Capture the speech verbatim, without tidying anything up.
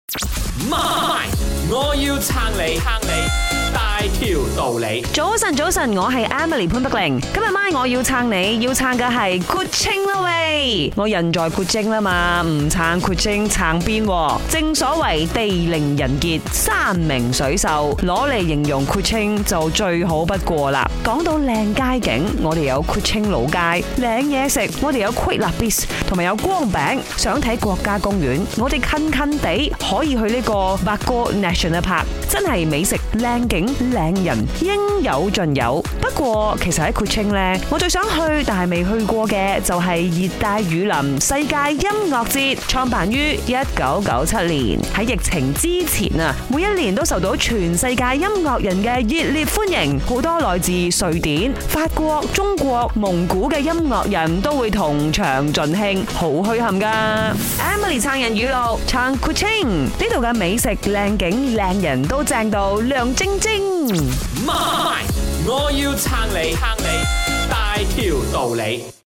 媽，我要撐你，撐你大條道理。 早晨，早晨，我係 Emily 潘碧玲。今日晚我要撐你，要撐嘅係括清啦喂！我人在括清啦嘛，唔撐括清撐邊？正所謂地靈人傑，山明水秀，攞嚟形容括清就最好不過啦。講到靚街景，我哋有括清老街；靚嘢食，我哋有 Kuala Beach 同埋有光餅。想睇國家公園，我哋近近地可以去呢個 Bago National Park， 真係美食、靚景、靚人應有盡有。不過其實喺括清呢，我最想去但係未去過嘅就係熱帶雨林世界音樂節，創辦於一九九七年。喺疫情之前啊，每一年都受到全世界音樂人嘅熱烈歡迎，好多來自瑞典、法國、中國、蒙古嘅音樂人都會同場盡興，好墟冚噶。Emily 撐人語錄，撐括清呢度嘅美食、靚景、靚人都正到亮晶晶。 媽，我要撐你，撐你大條道理。